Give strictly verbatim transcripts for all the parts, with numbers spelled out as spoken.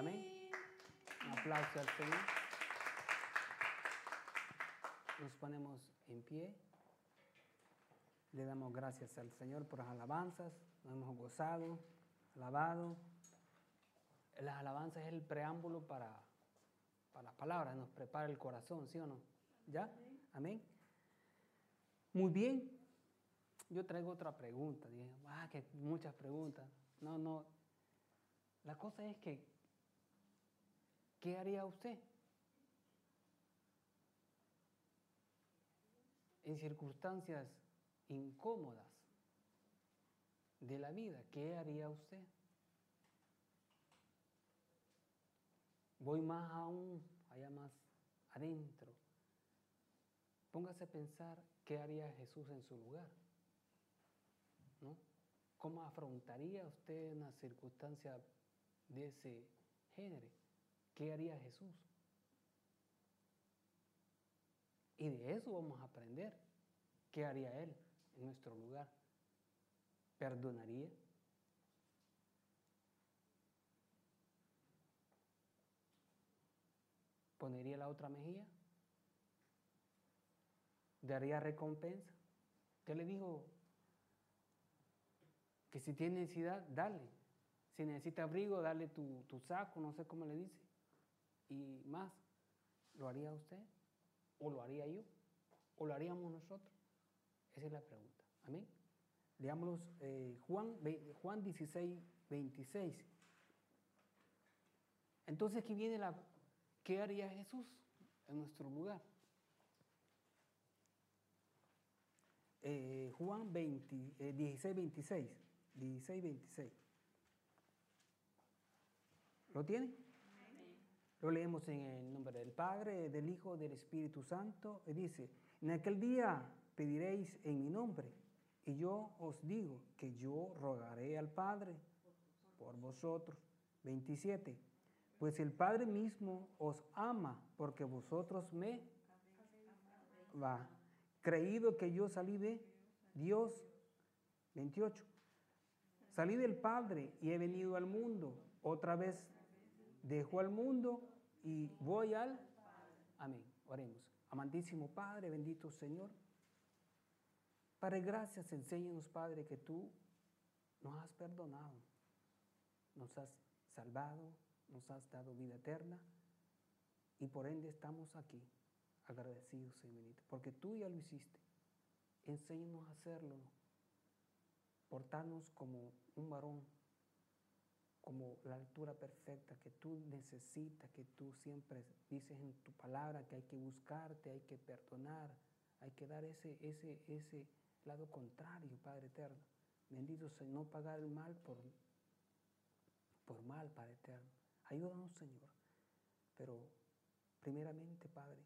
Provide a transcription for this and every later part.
Amén. Un aplauso al Señor. Nos ponemos en pie. Le damos gracias al Señor por las alabanzas. Nos hemos gozado, alabado. Las alabanzas es el preámbulo para, para las palabras. Nos prepara el corazón, ¿sí o no? ¿Ya? Amén. Muy bien. Yo traigo otra pregunta. Dije, ah, que muchas preguntas. No, no. La cosa es que, ¿qué haría usted en circunstancias incómodas de la vida? ¿Qué haría usted? Voy más aún, allá más adentro. Póngase a pensar qué haría Jesús en su lugar, ¿no? ¿Cómo afrontaría usted una circunstancia de ese género? ¿Qué haría Jesús? Y de eso vamos a aprender. ¿Qué haría Él en nuestro lugar? ¿Perdonaría? ¿Pondría la otra mejilla? ¿Daría recompensa? ¿Qué le dijo? Que si tiene necesidad, dale. Si necesita abrigo, dale tu, tu saco, no sé cómo le dice. Y más, ¿lo haría usted? ¿O lo haría yo? ¿O lo haríamos nosotros? Esa es la pregunta. Amén. Leámoslos, eh, Juan, Juan dieciséis, veintiséis. Entonces aquí viene la, ¿qué haría Jesús en nuestro lugar? Eh, Juan veinte, eh, dieciséis, veintiséis. dieciséis, veintiséis. ¿Lo tiene? Amén. Lo leemos en el nombre del Padre, del Hijo, del Espíritu Santo. Y dice, en aquel día pediréis en mi nombre, y yo os digo que yo rogaré al Padre por vosotros. veintisiete. Pues el Padre mismo os ama, porque vosotros me va. Creído que yo salí de Dios. veintiocho. Salí del Padre y he venido al mundo. Otra vez dejo al mundo y voy al... Amén. Oremos. Amantísimo Padre, bendito Señor. Padre, gracias. Enséñanos, Padre, que tú nos has perdonado, nos has salvado, nos has dado vida eterna y por ende estamos aquí agradecidos, Señor bendito, porque tú ya lo hiciste. Enséñanos a hacerlo, portarnos como un varón, como la altura perfecta que tú necesitas, que tú siempre dices en tu palabra que hay que buscarte, hay que perdonar, hay que dar ese, ese, ese lado contrario, Padre eterno. Bendito Señor, no pagar el mal por, por mal, Padre eterno. Ayúdanos, Señor. Pero primeramente, Padre,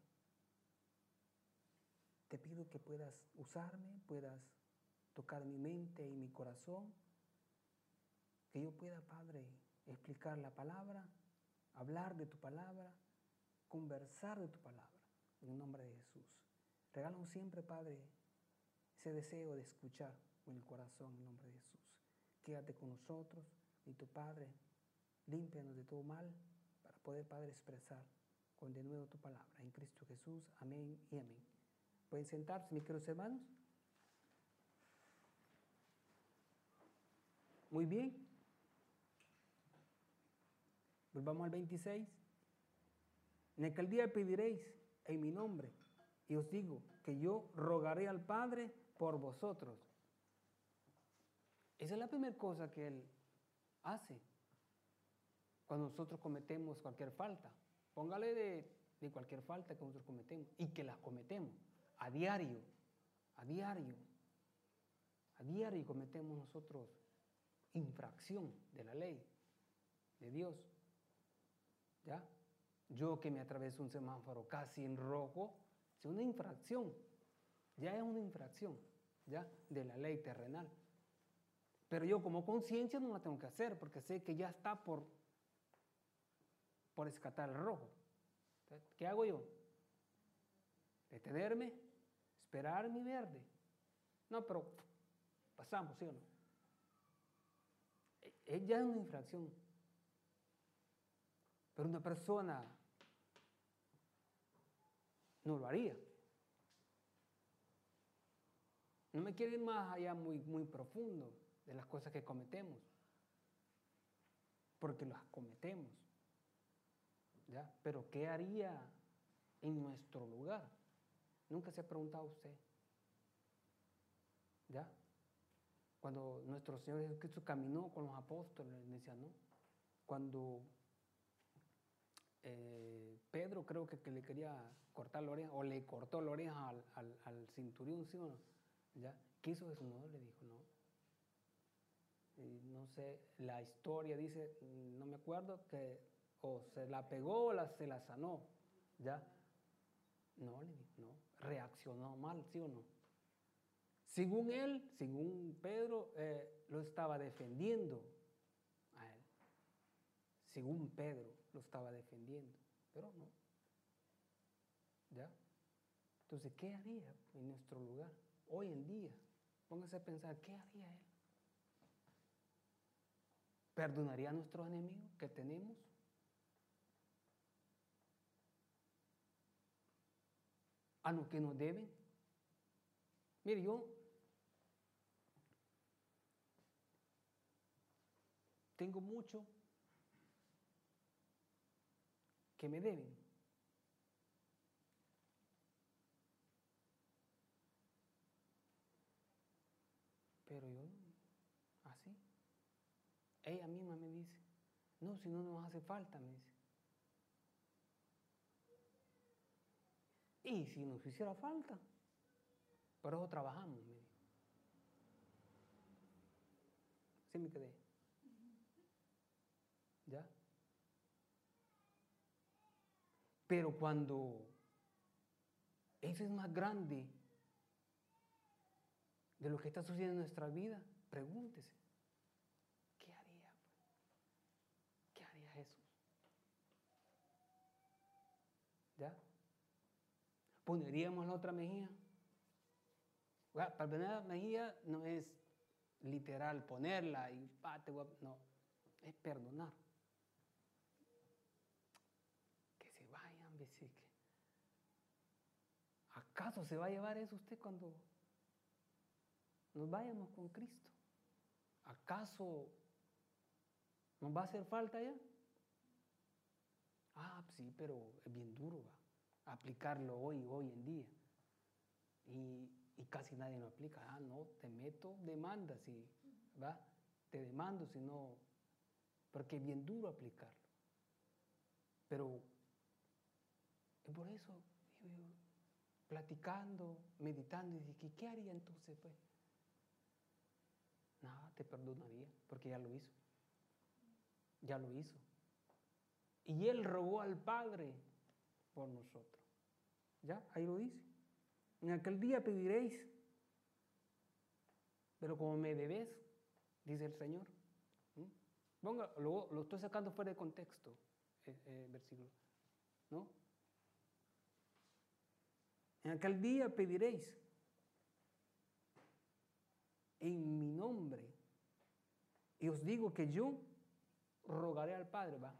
te pido que puedas usarme, puedas tocar mi mente y mi corazón, que yo pueda, Padre, explicar la palabra, hablar de tu palabra, conversar de tu palabra, en el nombre de Jesús. Regálanos siempre, Padre, ese deseo de escuchar en el corazón, en el nombre de Jesús. Quédate con nosotros y tu Padre, límpianos de todo mal para poder, Padre, expresar con de nuevo tu palabra. En Cristo Jesús, amén y amén. ¿Pueden sentarse, mis queridos hermanos? Muy bien. Volvamos al veintiséis. En aquel día pediréis en mi nombre, y os digo que yo rogaré al Padre por vosotros. Esa es la primera cosa que Él hace cuando nosotros cometemos cualquier falta. Póngale de, de cualquier falta que nosotros cometemos y que las cometemos a diario, a diario, a diario cometemos nosotros infracción de la ley de Dios. ¿Ya? Yo que me atraveso un semáforo casi en rojo, es una infracción, ya es una infracción, ¿ya? De la ley terrenal. Pero yo como conciencia no la tengo que hacer porque sé que ya está por, por escatar el rojo. ¿Qué hago yo? Detenerme, esperar mi verde. No, pero pasamos, ¿sí o no? Es ya una infracción. Pero una persona no lo haría. No me quiero ir más allá muy, muy profundo de las cosas que cometemos, porque las cometemos, ¿ya? Pero ¿qué haría en nuestro lugar? Nunca se ha preguntado usted, ¿ya? Cuando nuestro Señor Jesucristo caminó con los apóstoles, decía, ¿no? Cuando eh, Pedro creo que, que le quería cortar la oreja, o le cortó la oreja al, al, al centurión, ¿sí o no? ¿Ya? ¿Qué hizo Jesús? No, le dijo, no. Y no sé, la historia dice, no me acuerdo, que o se la pegó o la, se la sanó, ¿ya? No, le dijo, no. Reaccionó mal, ¿sí o no? Según él, según Pedro, eh, lo estaba defendiendo a él. Según Pedro, lo estaba defendiendo, pero no. ¿Ya? Entonces, ¿qué haría en nuestro lugar? Hoy en día, póngase a pensar, ¿qué haría él? ¿Perdonaría a nuestros enemigos que tenemos? ¿A los que nos deben? Mire, yo tengo mucho que me deben. Pero yo, así. Ella misma me dice, no, si no nos hace falta, me dice. Y si nos hiciera falta, por eso trabajamos, me dijo. Así me quedé. ¿Ya? Pero cuando eso es más grande de lo que está sucediendo en nuestra vida, pregúntese, ¿qué haría? ¿Qué haría Jesús? ¿Ya? ¿Pondríamos la otra mejilla? Bueno, para poner la mejilla no es literal ponerla y ah, te voy a... no, es perdonar. Que se vayan, decir que ¿acaso se va a llevar eso usted cuando nos vayamos con Cristo? ¿Acaso nos va a hacer falta ya? Ah, sí, pero es bien duro, ¿va? Aplicarlo hoy, hoy en día. Y, y casi nadie lo aplica. Ah, no, te meto demandas, y, ¿va? Te demando, si no, porque es bien duro aplicarlo. Pero es por eso, yo, yo, platicando, meditando, y dije, ¿qué haría entonces, pues? Nada, te perdonaría, porque ya lo hizo. Ya lo hizo. Y él rogó al Padre por nosotros. ¿Ya? Ahí lo dice. En aquel día pediréis, pero como me debes, dice el Señor. ¿Mm? Ponga, lo, lo estoy sacando fuera de contexto, eh, eh, versículo. ¿No? En aquel día pediréis en mi nombre. Y os digo que yo rogaré al Padre, ¿va?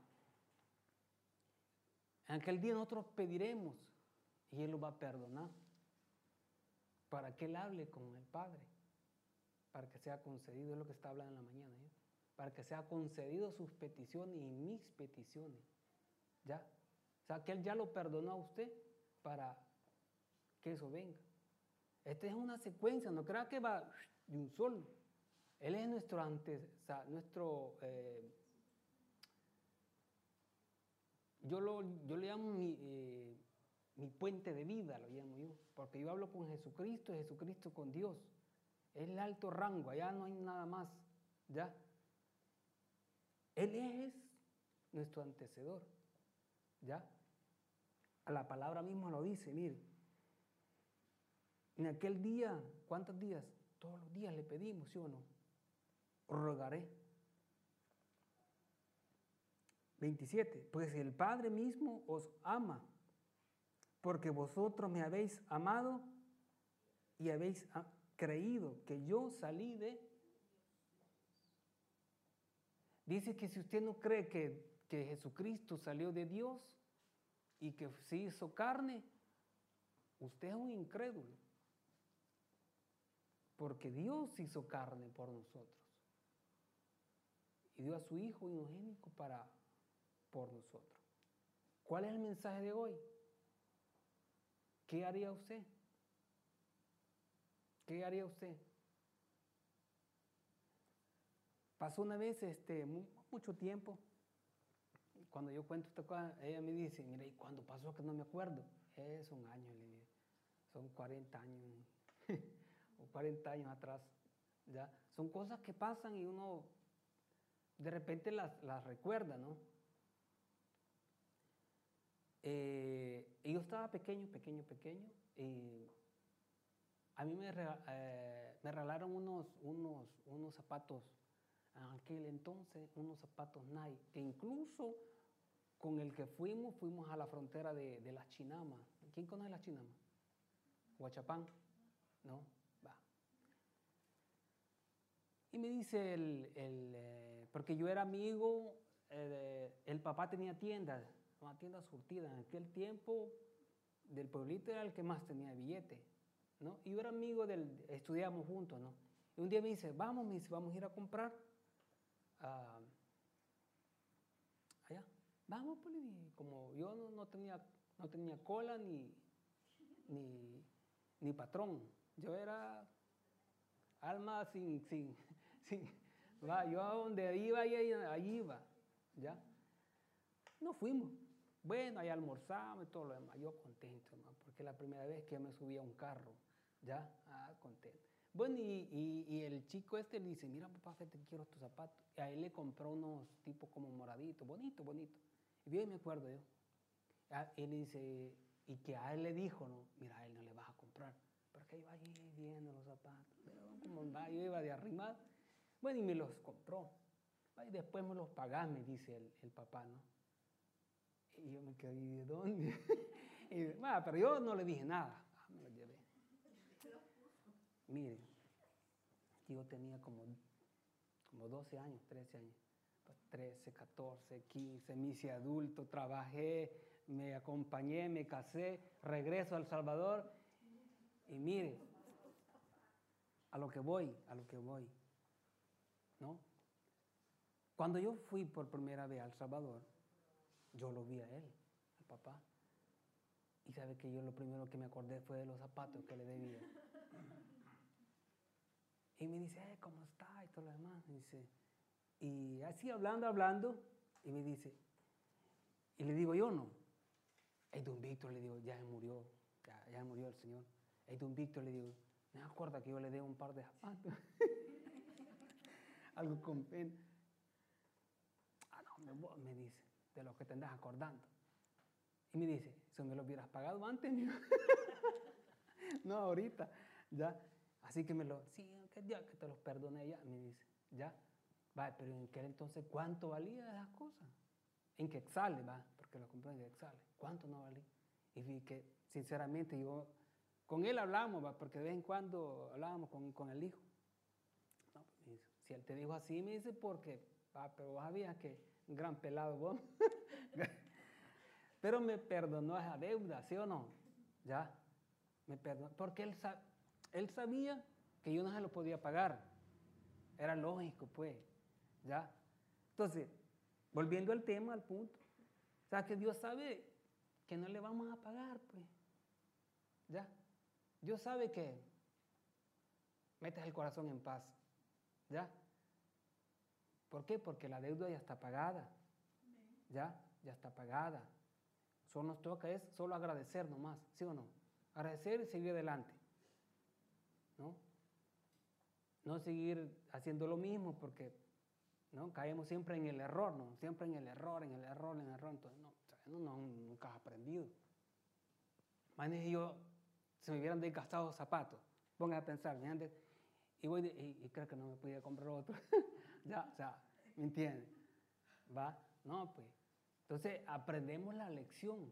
En aquel día nosotros pediremos y Él lo va a perdonar. Para que Él hable con el Padre. Para que sea concedido, es lo que está hablando en la mañana. ¿eh? Para que sea concedido sus peticiones y mis peticiones. ¿Ya? O sea, que Él ya lo perdonó a usted para que eso venga. Esta es una secuencia, no crea que va de un solo. Él es nuestro antes, o sea, nuestro, eh, yo, lo, yo le llamo mi, eh, mi puente de vida, lo llamo yo, porque yo hablo con Jesucristo y Jesucristo con Dios. Es el alto rango, allá no hay nada más, ¿ya? Él es nuestro antecedor, ¿ya? A la palabra misma lo dice, mire. En aquel día, ¿cuántos días? Todos los días le pedimos, ¿sí o no? Rogaré. veintisiete. Pues el Padre mismo os ama, porque vosotros me habéis amado y habéis creído que yo salí de... Dice que si usted no cree que, que Jesucristo salió de Dios y que se hizo carne, usted es un incrédulo. Porque Dios se hizo carne por nosotros. Y dio a su Hijo unigénito para, por nosotros. ¿Cuál es el mensaje de hoy? ¿Qué haría usted? ¿Qué haría usted? Pasó una vez, este, mucho tiempo, cuando yo cuento esta cosa, ella me dice, mira, ¿y cuándo pasó que no me acuerdo? Es un año, le digo, son cuarenta años, o cuarenta años atrás, ¿ya? Son cosas que pasan y uno de repente las, las recuerda, ¿no? Eh, y yo estaba pequeño, pequeño, pequeño, y a mí me, eh, me regalaron unos, unos, unos zapatos, en aquel entonces, unos zapatos Nike, que incluso con el que fuimos, fuimos a la frontera de, de las Chinamas. ¿Quién conoce las Chinamas? Huachapán, ¿no? Va. Y me dice el, el eh, porque yo era amigo, eh, el papá tenía tiendas, una tienda surtida. En aquel tiempo, del pueblito era el que más tenía billete, ¿no? Y yo era amigo del, estudiamos juntos, ¿no? Y un día me dice, vamos, me dice, vamos a ir a comprar uh, allá. Vamos, pues, y como yo no, no, tenía, no tenía cola ni, ni, ni patrón, yo era alma sin, sin, sin, va, yo a donde iba, ahí, ahí iba, ¿ya? Nos fuimos. Bueno, ahí almorzamos y todo lo demás. Yo contento, ¿no? Porque es la primera vez que me subía a un carro, ¿ya? Ah, contento. Bueno, y, y, y el chico este le dice, mira, papá, que te quiero estos zapatos. Y a él le compró unos tipos como moraditos, bonito, bonito. Y bien me acuerdo yo. Y él dice, y que a él le dijo, no, mira, a él no le vas a comprar. Porque iba ahí viendo los zapatos. Pero como va, yo iba de arrimado. Bueno, y me los compró. Y después me los pagás, me dice el, el papá, ¿no? Y yo me quedé, ¿de dónde? Y, bueno, pero yo no le dije nada. Ah, me lo llevé. Mire, yo tenía como, como doce años, trece años. Pues trece, catorce, quince, me hice adulto, trabajé, me acompañé, me casé, regreso a El Salvador. Y mire, a lo que voy, a lo que voy, ¿no? Cuando yo fui por primera vez a El Salvador, yo lo vi a él, al papá. Y sabe que yo lo primero que me acordé fue de los zapatos que le debía. Y me dice, eh, ¿cómo está? Y todo lo demás. Me dice, y así hablando, hablando, y me dice, y le digo yo, no. Hey, don Víctor, le digo, ya murió, ya, ya murió el señor. Hey, don Víctor, le digo, me acuerdo que yo le debo un par de zapatos. Algo con pena. Ah, no, me, me dice, de los que te andas acordando. Y me dice, si me lo hubieras pagado antes, no, ahorita, ya. Así que me lo, sí, que ya que te los perdoné ya, me dice, ya. Va, pero en aquel entonces, ¿cuánto valía esas cosas? En quetzales, va, porque lo compré en quetzales. ¿Cuánto no valía? Y vi que, sinceramente, yo, con él hablamos, va, porque de vez en cuando hablábamos con, con el hijo. No, pues, me dice, si él te dijo así, me dice, porque, va, pero vos sabías que un gran pelado vos. Pero me perdonó esa deuda, ¿sí o no? Ya, me perdonó, porque él, sab, él sabía que yo no se lo podía pagar. Era lógico, pues, ¿ya? Entonces, volviendo al tema, al punto, o sea, que Dios sabe que no le vamos a pagar, pues, ¿ya? Dios sabe que metes el corazón en paz, ¿ya? ¿Por qué? Porque la deuda ya está pagada, ¿ya? Ya está pagada. Solo nos toca es solo agradecer nomás, ¿sí o no? Agradecer y seguir adelante, ¿no? No seguir haciendo lo mismo porque, ¿no? Caemos siempre en el error, ¿no? Siempre en el error, en el error, en el error. Entonces, no, no, no nunca has aprendido. Imagínense yo, si me hubieran desgastado zapatos, pongan a pensar, ¿me y, voy de, y, y creo que no me podía comprar otro. Ya, o sea, ¿me entienden? ¿Va? No, pues. Entonces, aprendemos la lección.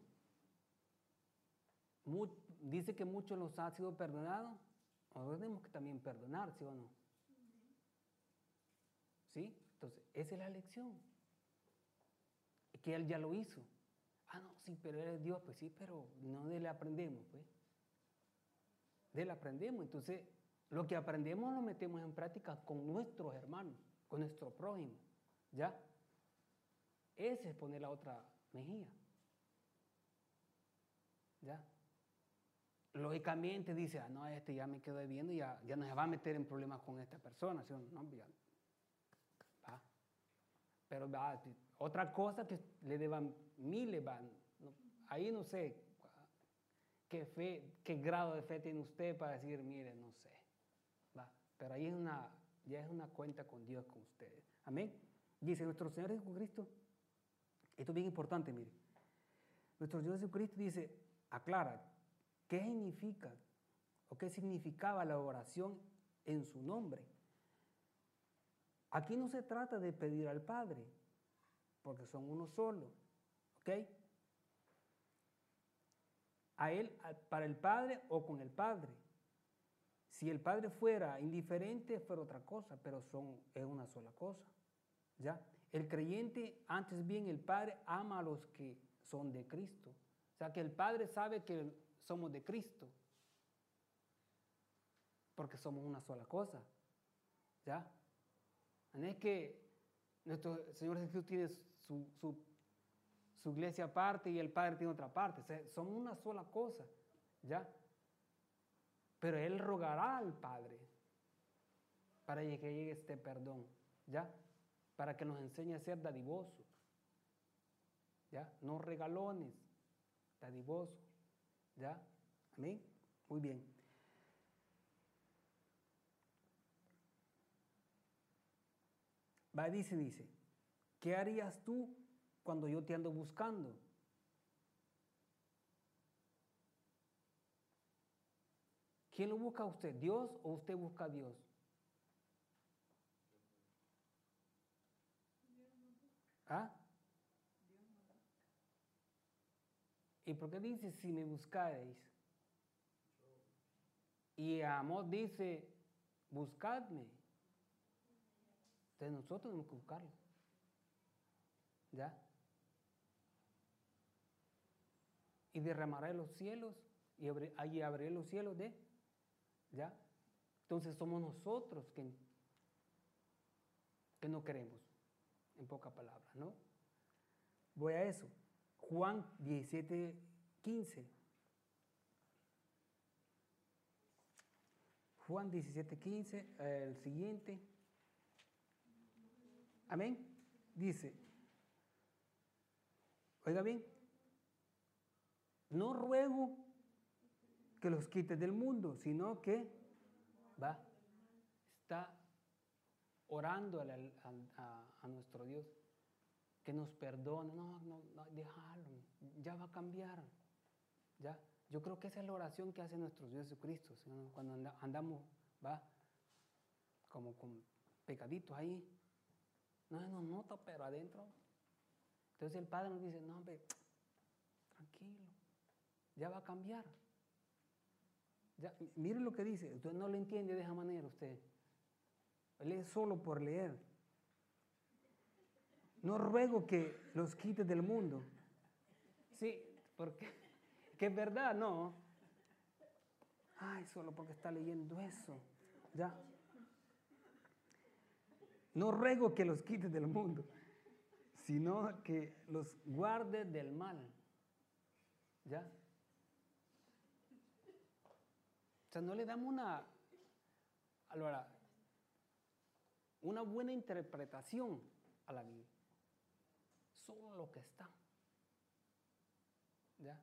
Muy, dice que muchos los ha sido perdonados, nosotros tenemos que también perdonar, ¿sí o no? ¿Sí? Entonces, esa es la lección. que Él ya lo hizo. Ah, no, sí, pero Él es Dios, pues sí, pero no de Él aprendemos, pues. De Él aprendemos, entonces lo que aprendemos lo metemos en práctica con nuestros hermanos, con nuestro prójimo, ¿ya? Ese es poner la otra mejilla, ¿ya? Lógicamente dice, ah, no, este ya me quedo debiendo y ya, ya no se va a meter en problemas con esta persona, ¿sí? No, ya, va. Pero va, otra cosa que le deban miles, van, no, ahí no sé qué fe, qué grado de fe tiene usted para decir, mire, no sé, va. Pero ahí es una, ya es una cuenta con Dios, con ustedes. Amén. Dice nuestro Señor Jesucristo, esto es bien importante, mire. Nuestro Señor Jesucristo dice, aclara, ¿qué significa o qué significaba la oración en su nombre? Aquí no se trata de pedir al Padre, porque son uno solo, ¿ok? A Él, para el Padre o con el Padre. Si el Padre fuera indiferente, fuera otra cosa, pero son, es una sola cosa, ¿ya? El creyente, antes bien, el Padre ama a los que son de Cristo. O sea, que el Padre sabe que somos de Cristo, porque somos una sola cosa, ¿ya? No es que nuestro Señor Jesús tiene su, su, su iglesia aparte y el Padre tiene otra parte. O sea, somos una sola cosa, ¿ya? Pero Él rogará al Padre para que llegue este perdón, ¿ya? Para que nos enseñe a ser dadivosos, ¿ya? No regalones, dadivosos, ¿ya? Amén. Muy bien. Va, dice, dice, ¿qué harías tú cuando yo te ando buscando? ¿Quién lo busca a usted? ¿Dios o usted busca a Dios? ¿Ah? ¿Y por qué dice si me buscareis? Y Amós dice, buscadme. Entonces nosotros tenemos que buscarlo. ¿Ya? Y derramaré los cielos y allí abriré los cielos de, ¿ya? Entonces somos nosotros que, que no queremos, en pocas palabras, ¿no? Voy a eso. Juan diecisiete, quince. Juan diecisiete, quince, el siguiente. Amén. Dice, oiga bien, no ruego que los quites del mundo, sino que va, está orando a, la, a, a nuestro Dios, que nos perdone. No, no, no, déjalo, ya va a cambiar. Ya, yo creo que esa es la oración que hace nuestro Dios Jesucristo, ¿sí? Cuando anda, andamos, va, como con pecaditos ahí. No se nos nota, pero adentro. Entonces el Padre nos dice, no, hombre, tranquilo, ya va a cambiar. Ya, mire lo que dice, usted no lo entiende de esa manera usted. Lee solo por leer. No ruego que los quites del mundo. Sí, porque que es verdad, no. Ay, solo porque está leyendo eso. Ya. No ruego que los quites del mundo, sino que los guarde del mal. ¿Ya? O sea, no le damos una, ahora, una buena interpretación a la Biblia. Solo lo que está. ¿Ya?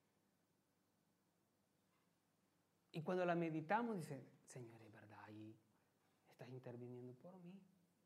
Y cuando la meditamos, dice, Señor, es verdad, ahí estás interviniendo por mí.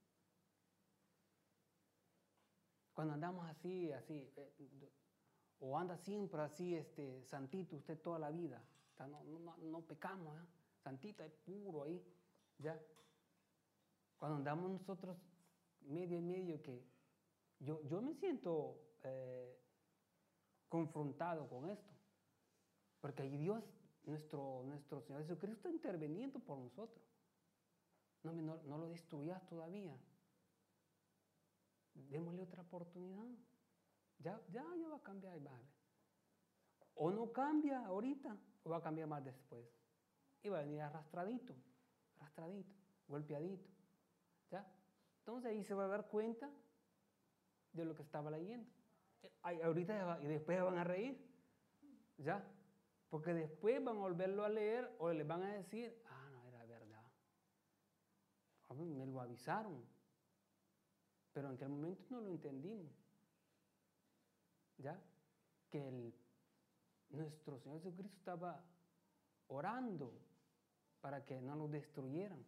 Cuando andamos así, así, eh, o anda siempre así, este, santito, usted toda la vida, no, no, no pecamos, ¿eh? Santito, es puro ahí, ¿ya? Cuando andamos nosotros medio y medio que yo, yo me siento eh, confrontado con esto, porque ahí Dios, nuestro, nuestro Señor Jesucristo, está interviniendo por nosotros. No, no, no lo destruyas todavía. Démosle otra oportunidad. Ya, ya, ya va a cambiar y va a ver. O no cambia ahorita, o va a cambiar más después. Y va a venir arrastradito, arrastradito, golpeadito. ¿Ya? Entonces ahí se va a dar cuenta de lo que estaba leyendo. Ay, ahorita y después van a reír. ¿Ya? Porque después van a volverlo a leer o les van a decir, ah, no, era verdad. A mí me lo avisaron. Pero en aquel momento no lo entendimos. ¿Ya? Que el, nuestro Señor Jesucristo estaba orando para que no nos destruyeran.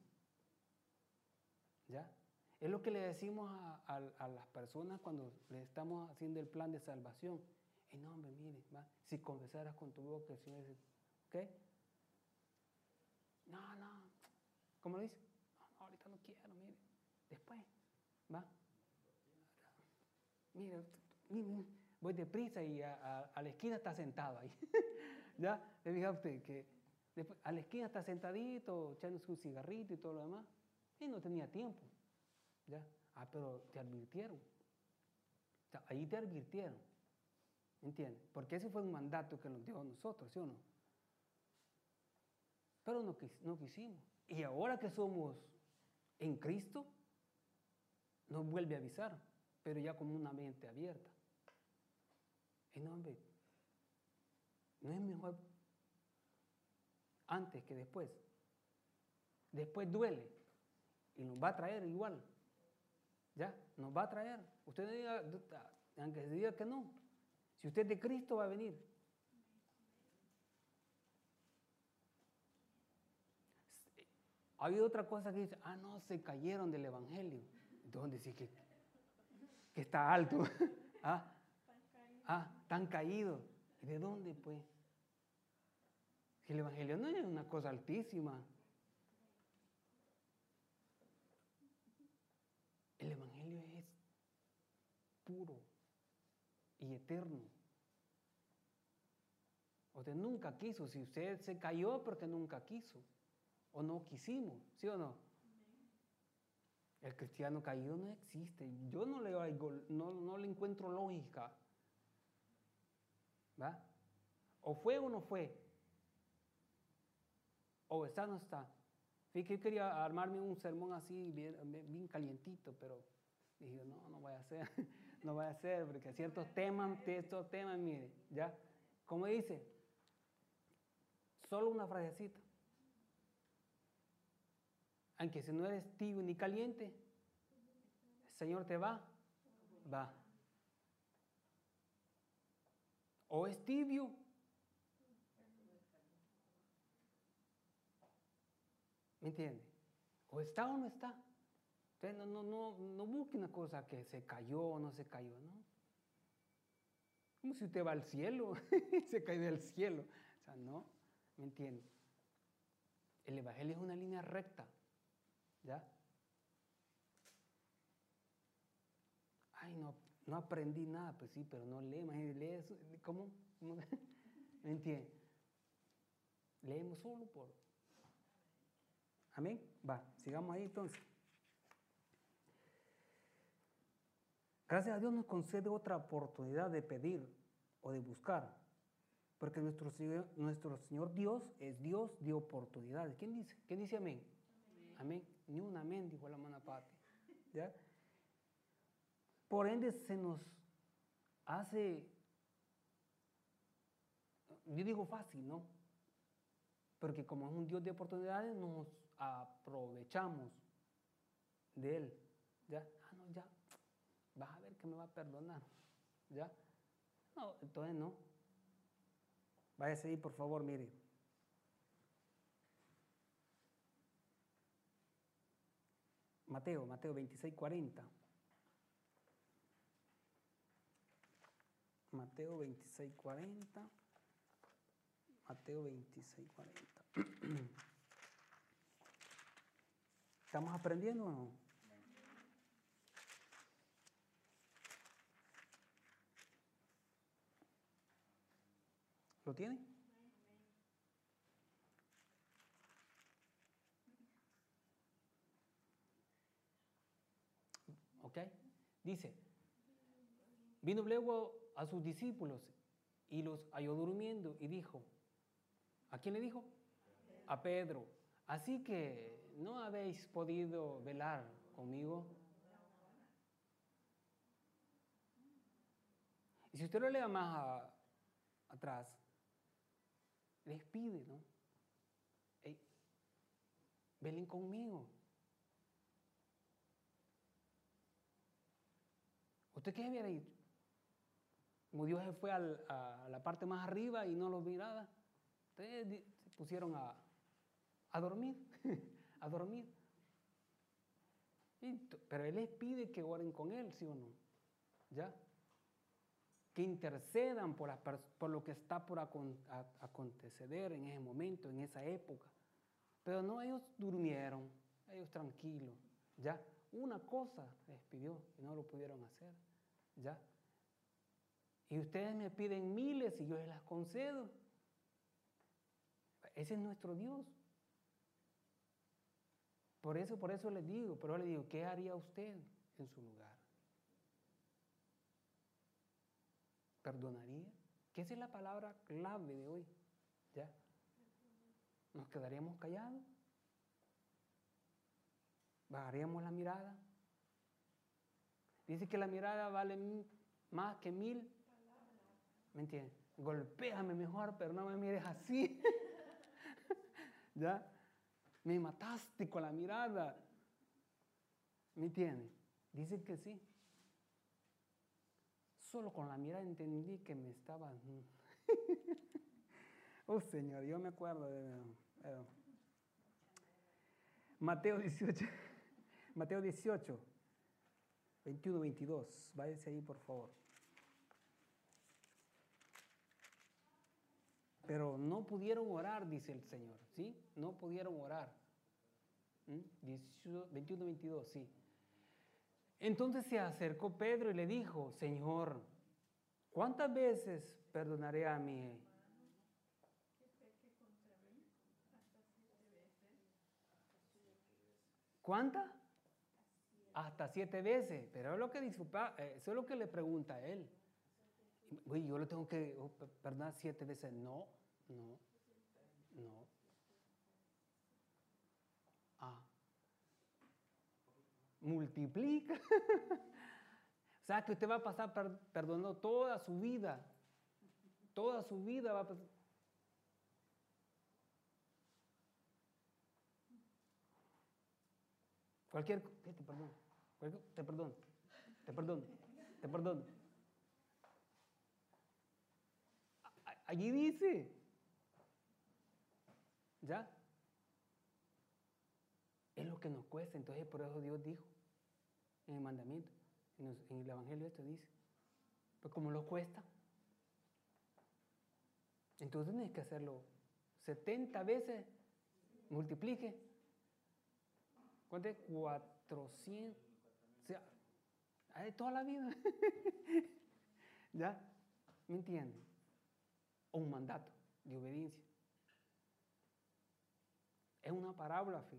¿Ya? Es lo que le decimos a, a, a las personas cuando les estamos haciendo el plan de salvación. Y no, hombre, mire, ¿va? Si confesaras con tu boca el Señor dice, ¿qué? No, no. ¿Cómo lo dice? No, no, ahorita no quiero, mire. Después, ¿va? Mire, mire, voy deprisa y a, a, a la esquina está sentado ahí. ¿Ya? Le dije a usted que después, a la esquina está sentadito, echándose un cigarrito y todo lo demás. Y no tenía tiempo. ¿Ya? Ah, pero te advirtieron. O sea, ahí te advirtieron. ¿Entiendes? Porque ese fue un mandato que nos dio a nosotros, ¿sí o no? Pero no, no quisimos. Y ahora que somos en Cristo, nos vuelve a avisar, pero ya con una mente abierta. Y no, hombre, no es mejor antes que después. Después duele y nos va a traer igual. ¿Ya? Nos va a traer. Usted diga, aunque se diga que no. Si usted es de Cristo, va a venir. Ha habido otra cosa que dice, ah, no, se cayeron del Evangelio. Entonces dice que, que está alto. ¿Ah? Ah, están caídos. ¿Y de dónde, pues? Si el Evangelio no es una cosa altísima. El Evangelio es puro y eterno. Usted nunca quiso. Si usted se cayó, porque nunca quiso. O no quisimos, ¿sí o no? El cristiano caído no existe. Yo no le, no, no le encuentro lógica. ¿Va? O fue o no fue. O está o no está. Fíjate que yo quería armarme un sermón así, bien, bien calientito, pero dije, no, no voy a hacer, no voy a hacer, porque ciertos temas, estos temas, mire, ¿ya? Como dice, solo una frasecita. Aunque si no eres tibio ni caliente, el Señor te va, va. O es tibio, ¿me entiende? O está o no está. Entonces no, no, no, no busque una cosa que se cayó o no se cayó, ¿no? Como si usted va al cielo, se cayó del cielo. O sea, no, ¿me entiende? El Evangelio es una línea recta, ¿ya? Ay, no, no aprendí nada, pues sí, pero no lee, lee eso, ¿cómo? ¿Cómo? ¿Me entiende? Leemos solo por... Amén. Va, sigamos ahí entonces. Gracias a Dios nos concede otra oportunidad de pedir o de buscar, porque nuestro Señor, nuestro Señor Dios es Dios de oportunidades. ¿Quién dice? ¿Quién dice amén? Amén. Amén. Ni un amén, dijo la hermana Pati. ¿Ya? Por ende se nos hace, yo digo fácil, ¿no? Porque como es un Dios de oportunidades, nos aprovechamos de Él. ¿Ya? Ah, no, ya. Vas a ver que me va a perdonar. ¿Ya? No, entonces no. Váyase ahí, por favor, mire. Mateo, Mateo veintiséis, cuarenta. Mateo veintiséis, cuarenta. Mateo veintiséis, cuarenta. ¿Estamos aprendiendo o no? ¿Lo tiene? Ok. Dice, Vino luego a sus discípulos y los halló durmiendo y dijo, ¿a quién le dijo? A Pedro. Así que no habéis podido velar conmigo. Y si usted lo lea más a, atrás, les pide, ¿no? Hey, velen conmigo. ¿Usted qué hubiera dicho? Como Dios se fue al, a la parte más arriba y no los miraba, ustedes se pusieron a, a dormir, a dormir. Y, pero Él les pide que oren con Él, ¿sí o no? ¿Ya? Que intercedan por, la, por lo que está por acontecer en ese momento, en esa época. Pero no, ellos durmieron, ellos tranquilos, ¿ya? Una cosa les pidió y no lo pudieron hacer, ¿ya? Y ustedes me piden miles y yo les las concedo. Ese es nuestro Dios. Por eso, por eso les digo, pero les digo, ¿qué haría usted en su lugar? ¿Perdonaría? ¿Qué es la palabra clave de hoy? ¿Ya? ¿Nos quedaríamos callados? ¿Bajaríamos la mirada? Dice que la mirada vale más que mil. ¿Me entiendes? Golpéame mejor, pero no me mires así. ¿Ya? Me mataste con la mirada. ¿Me entiendes? Dice que sí. Solo con la mirada entendí que me estaba... Oh, Señor, yo me acuerdo de... Uh, Mateo dieciocho, Mateo dieciocho, veintiuno, veintidós. Váyase ahí, por favor. Pero no pudieron orar, dice el Señor, ¿sí? No pudieron orar. ¿Mm? veintiuno, veintidós, sí. Entonces se acercó Pedro y le dijo, Señor, ¿cuántas veces perdonaré a mi... ¿Cuántas? Hasta siete veces. Pero es lo que disculpa, eso es lo que le pregunta a él. Uy, yo le tengo que perdonar siete veces. No, no, no. Ah. Multiplica. O sea que usted va a pasar per perdonando toda su vida. Toda su vida va a pasar. Cualquier, ¿qué te perdono? Te perdono, te perdono, te perdono. Allí dice, ¿ya? Es lo que nos cuesta, entonces por eso Dios dijo en el mandamiento, en, los, en el Evangelio esto dice, pues como lo cuesta, entonces tienes que hacerlo setenta veces, multiplique, ¿cuánto es? cuatrocientos, o sea, hay toda la vida, ¿ya? ¿Me entienden? O un mandato de obediencia. Es una parábola, ¿sí?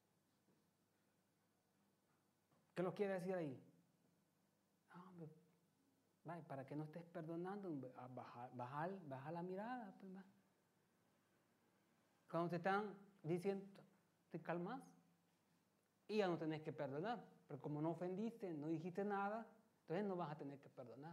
¿Qué lo quiere decir ahí? No, vale, para que no estés perdonando, bajar, bajar, bajar la mirada. Pues, va. Cuando te están diciendo, te calmas y ya no tenés que perdonar. Pero como no ofendiste, no dijiste nada, entonces no vas a tener que perdonar.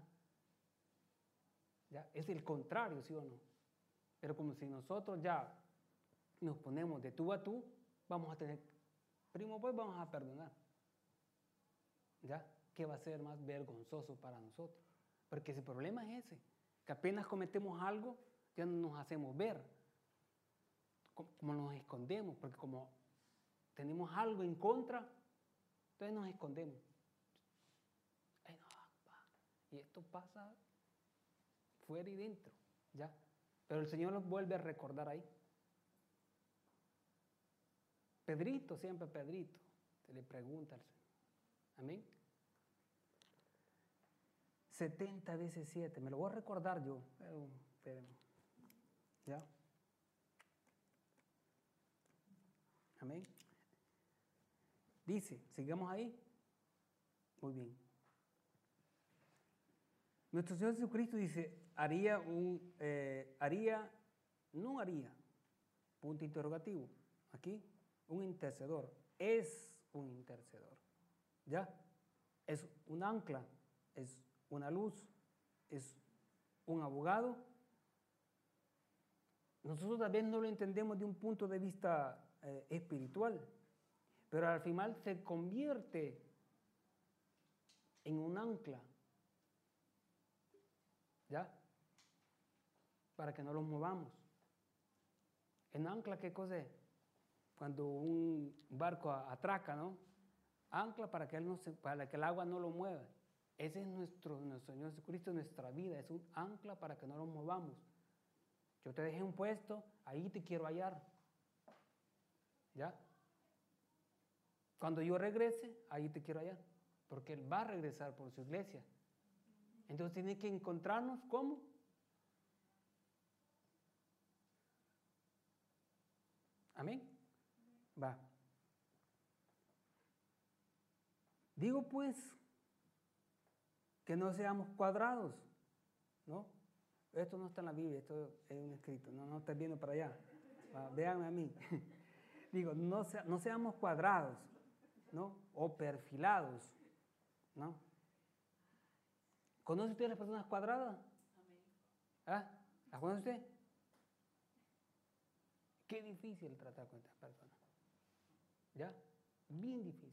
¿Ya? Es el contrario, ¿sí o no? Pero como si nosotros ya nos ponemos de tú a tú, vamos a tener, primo, pues vamos a perdonar. ¿Ya? ¿Qué va a ser más vergonzoso para nosotros? Porque ese problema es ese, que apenas cometemos algo, ya no nos hacemos ver, como nos escondemos, porque como tenemos algo en contra, entonces nos escondemos. Ay, no, y esto pasa fuera y dentro, ¿ya? Pero el Señor nos vuelve a recordar ahí. Pedrito, siempre Pedrito, se le pregunta al Señor. Amén. setenta veces siete, me lo voy a recordar yo, pero, pero ¿ya? Amén. Dice, sigamos ahí. Muy bien. Nuestro Señor Jesucristo dice, haría un, eh, haría, no haría, punto interrogativo, aquí, un intercedor, es un intercedor, ¿ya? Es un ancla, es una luz, es un abogado. Nosotros tal vez no lo entendemos de un punto de vista eh, espiritual, pero al final se convierte en un ancla, ¿ya? Para que no los movamos. ¿En ancla qué cosa es? Cuando un barco atraca, ¿no? Ancla para que, él no se, para que el agua no lo mueva. Ese es nuestro, nuestro Señor Jesucristo, nuestra vida. Es un ancla para que no lo movamos. Yo te dejé un puesto, ahí te quiero hallar. ¿Ya? Cuando yo regrese, ahí te quiero hallar. Porque Él va a regresar por su iglesia. Entonces tiene que encontrarnos, ¿cómo? Amén. Va. Digo pues que no seamos cuadrados, ¿no? Esto no está en la Biblia, esto es un escrito, no, no estás viendo para allá. Va, véanme a mí. Digo, no, sea, no seamos cuadrados, ¿no? O perfilados, ¿no? ¿Conoce usted las personas cuadradas? ¿Ah? ¿Las conoce usted? Qué difícil tratar con estas personas. ¿Ya? Bien difícil.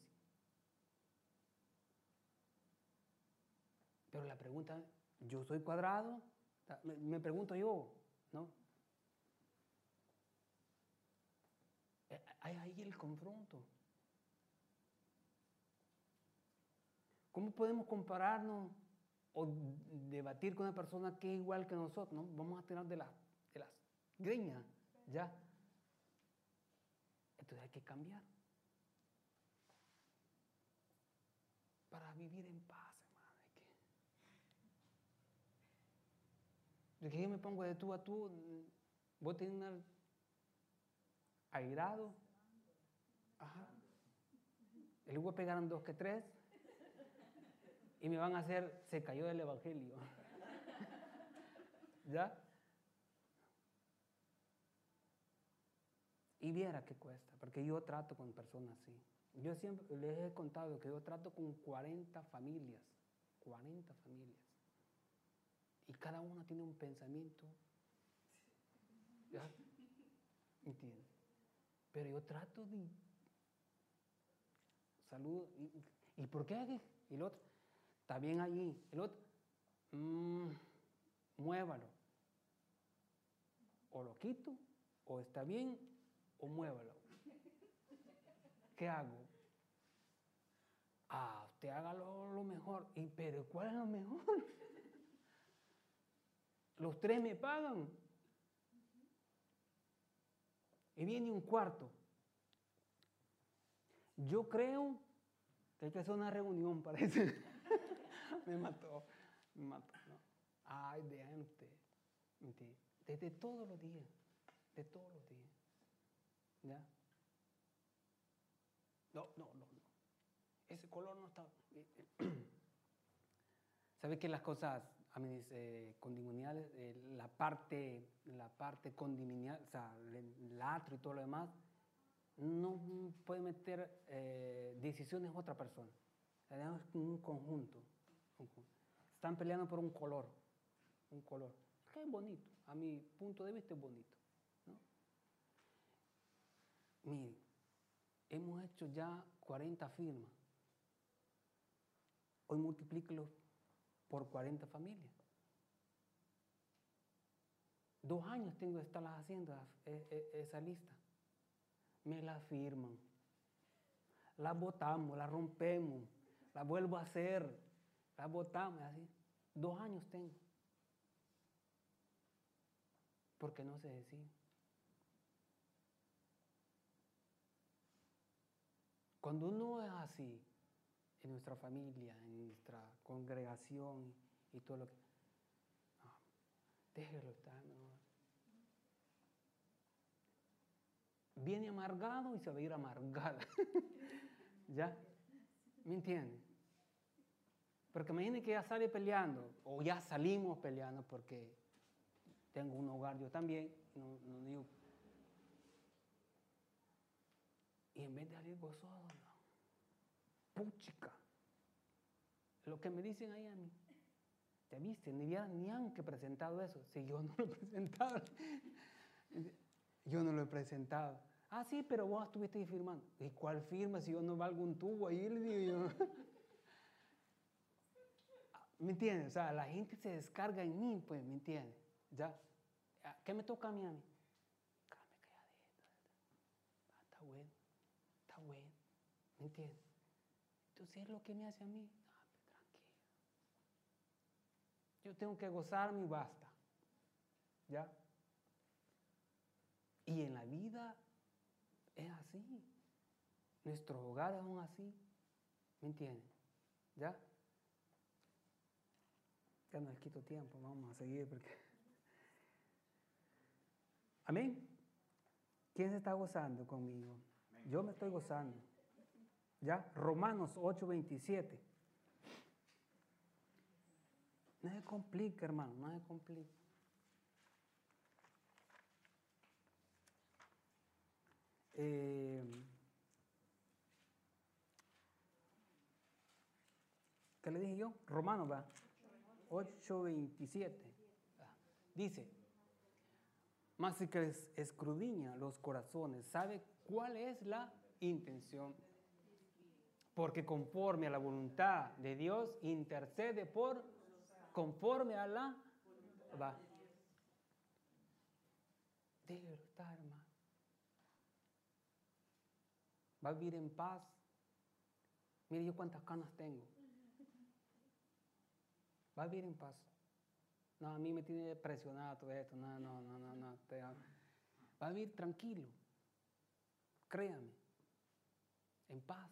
Pero la pregunta, ¿yo soy cuadrado? Me, me pregunto yo, ¿no? Hay ahí el confronto. ¿Cómo podemos compararnos o debatir con una persona que es igual que nosotros? ¿No? Vamos a tirar de, la, de las greñas, ¿ya? Entonces hay que cambiar. Para vivir en paz, hermano. Hay que... De que yo me pongo de tú a tú, voy a tener airado. Ajá. Y luego pegaron dos que tres. Y me van a hacer, se cayó del evangelio. ¿Ya? Y viera qué cuesta, porque yo trato con personas así. Yo siempre les he contado que yo trato con cuarenta familias, cuarenta familias. Y cada una tiene un pensamiento. ¿Ya? ¿Entiendes? Pero yo trato de... Salud. ¿Y, ¿y por qué? Y el otro, está bien allí. El otro, mmm, muévalo. O lo quito, o está bien, o muévalo. ¿Qué hago? Ah, usted haga lo, lo mejor. ¿Y pero cuál es lo mejor? Los tres me pagan. Y viene un cuarto. Yo creo que hay que hacer una reunión, parece. me mató, me mató. ¿No? Ay, vean usted. Desde todos los días, de todos los días. ¿Ya? No, no, no, no. Ese color no está... ¿Sabe que las cosas eh, condimoniales, eh, la parte, la parte condimonial, o sea, el atrio y todo lo demás, no puede meter eh, decisiones a otra persona. Tenemos un conjunto, un conjunto. Están peleando por un color, un color. Que es bonito, a mi punto de vista es bonito, ¿no? Miren, hemos hecho ya cuarenta firmas. Hoy multiplíquelo por cuarenta familias. Dos años tengo de estarlas haciendo esa lista. Me la firman. La botamos, la rompemos, la vuelvo a hacer, la botamos, así. Dos años tengo. Porque no se decide. Cuando uno es así, en nuestra familia, en nuestra congregación y todo lo que... No, déjelo estar, no. Viene amargado y se va a ir amargada. ¿Ya? ¿Me entienden? Porque imagínense que ya sale peleando, o ya salimos peleando porque tengo un hogar yo también, no, no digo. Y en vez de salir gozoso, no. Puchica. Lo que me dicen ahí a mí, ¿te viste? Ni, ni han que presentado eso. Si yo no lo he presentado. Yo no lo he presentado. Ah, sí, pero vos estuviste ahí firmando. ¿Y cuál firma si yo no valgo un tubo ahí? Le digo yo. ¿Me entiendes? O sea, la gente se descarga en mí, pues, ¿me entiendes? ¿Ya? ¿Qué me toca a mí a mí? Cállame calladito. Ah, está bueno, está bueno, ¿me entiendes? Entonces es lo que me hace a mí. Ah, pues, tranquilo. Yo tengo que gozarme y basta. ¿Ya? Y en la vida es así. Nuestros hogares son así. ¿Me entiendes? ¿Ya? Ya no les quito tiempo, vamos a seguir porque... Amén. ¿Quién se está gozando conmigo? Yo me estoy gozando. ¿Ya? Romanos ocho veintisiete. No se complica, hermano, no se complica. Eh, ¿Qué le dije yo? Romanos, va. ocho veintisiete. Dice, mas si que escudriña los corazones, sabe cuál es la intención. Porque conforme a la voluntad de Dios, intercede por, conforme a la, va. De verdad, hermano. Va a vivir en paz. Mire yo cuántas canas tengo. Va a vivir en paz. No, a mí me tiene presionado todo esto. No, no, no, no, no. Te, va a vivir tranquilo. Créame. En paz.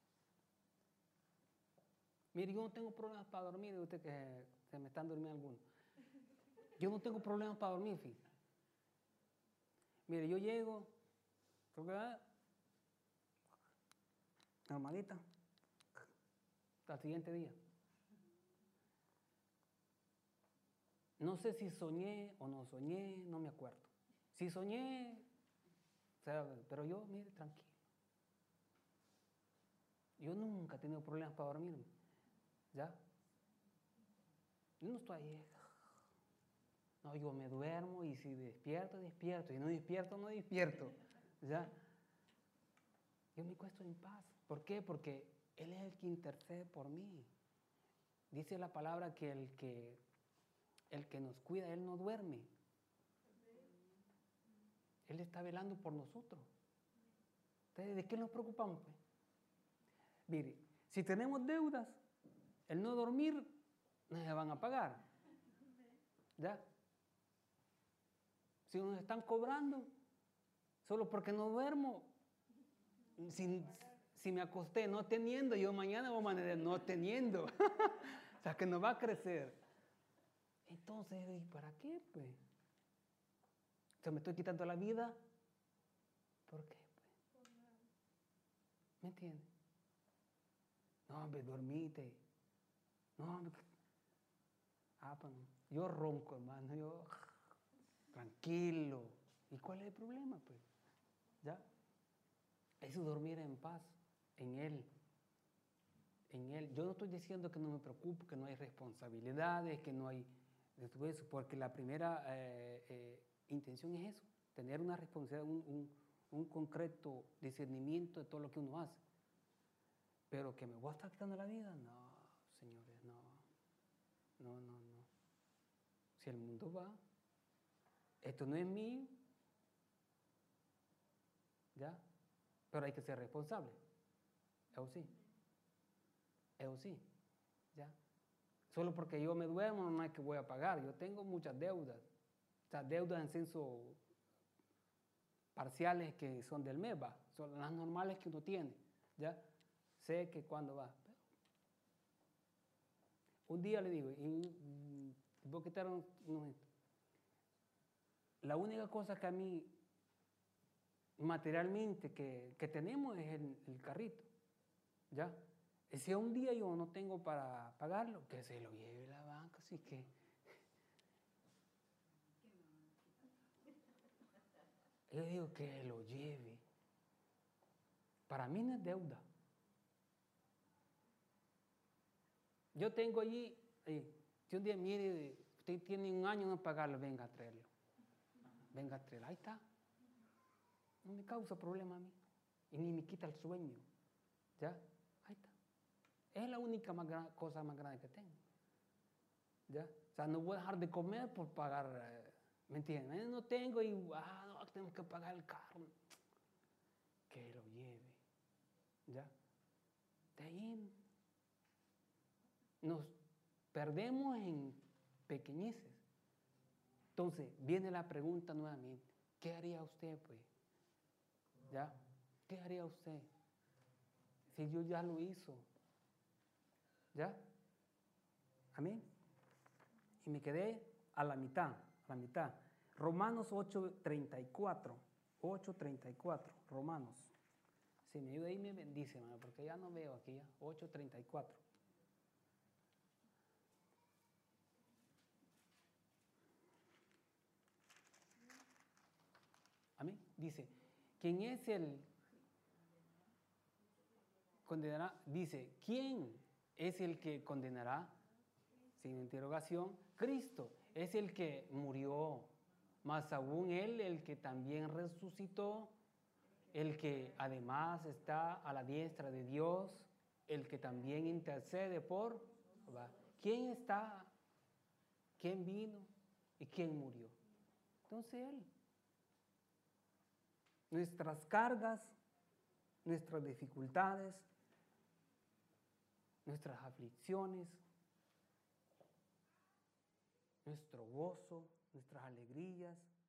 Mire, yo no tengo problemas para dormir. De usted que se me están durmiendo algunos. Yo no tengo problemas para dormir, fíjate. Mire, yo llego. Normalita. Hasta el siguiente día. No sé si soñé o no soñé, no me acuerdo. Si soñé, o sea, pero yo, mire, tranquilo. Yo nunca he tenido problemas para dormirme. ¿Ya? Yo no estoy ahí. No, yo me duermo y si despierto, despierto. Y no despierto, no despierto. ¿Ya? Yo me acuesto en paz. ¿Por qué? Porque Él es el que intercede por mí. Dice la palabra que el que, el que nos cuida, Él no duerme. Él está velando por nosotros. Entonces, ¿de qué nos preocupamos? Pues? Mire, si tenemos deudas, el no dormir, no se van a pagar. ¿Ya? Si nos están cobrando, solo porque no duermo, si, si me acosté no teniendo, yo mañana voy a amanecer no teniendo. O sea, que no va a crecer. Entonces, ¿y para qué, pues? O sea, me estoy quitando la vida. ¿Por qué, pues? ¿Me entiendes? No, hombre, dormite. No, hombre. Ah, pues no. Yo ronco, hermano. Yo, tranquilo. ¿Y cuál es el problema, pues? ¿Ya? Eso es dormir en paz, en Él. En Él. Yo no estoy diciendo que no me preocupe, que no hay responsabilidades, que no hay de todo eso, porque la primera eh, eh, intención es eso, tener una responsabilidad, un, un, un concreto discernimiento de todo lo que uno hace. Pero que me voy a estar quitando la vida, no, señores, no. No, no, no. Si el mundo va, esto no es mío, ¿ya? Pero hay que ser responsable. Eso sí. Eso sí, ¿ya? Solo porque yo me duermo no es que voy a pagar. Yo tengo muchas deudas. O sea, deudas en censo parciales que son del mes, va. Son las normales que uno tiene, ¿ya? Sé que cuando va. Pero un día le digo, y voy a quitar un, un, la única cosa que a mí materialmente que, que tenemos es el, el carrito, ¿ya? Y si un día yo no tengo para pagarlo, que se lo lleve la banca, así que... Yo digo que lo lleve. Para mí no es deuda. Yo tengo allí, eh, si un día mire, usted tiene un año en pagarlo, venga a traerlo. Venga a traerlo, ahí está. No me causa problema a mí. Y ni me quita el sueño. ¿Ya? Ahí está. Es la única más gran, cosa más grande que tengo. ¿Ya? O sea, no voy a dejar de comer por pagar, eh, ¿me entienden? No tengo y, ah, no, tengo que pagar el carro. Que lo lleve. ¿Ya? De ahí nos perdemos en pequeñeces. Entonces, viene la pregunta nuevamente. ¿Qué haría usted, pues? ¿Ya? ¿Qué haría usted? Si Dios ya lo hizo. ¿Ya? Amén. Y me quedé a la mitad, a la mitad. Romanos ocho treinta y cuatro. ocho treinta y cuatro. Romanos. Si me ayuda ahí me bendice, hermano, porque ya no veo aquí ya. ocho treinta y cuatro. Amén. Dice, ¿quién es el condenará? Dice, ¿quién es el que condenará? Sin interrogación, Cristo es el que murió, más aún Él, el que también resucitó, el que además está a la diestra de Dios, el que también intercede por... ¿Quién está? ¿Quién vino? ¿Y quién murió? Entonces Él. Nuestras cargas, nuestras dificultades, nuestras aflicciones, nuestro gozo, nuestras alegrías,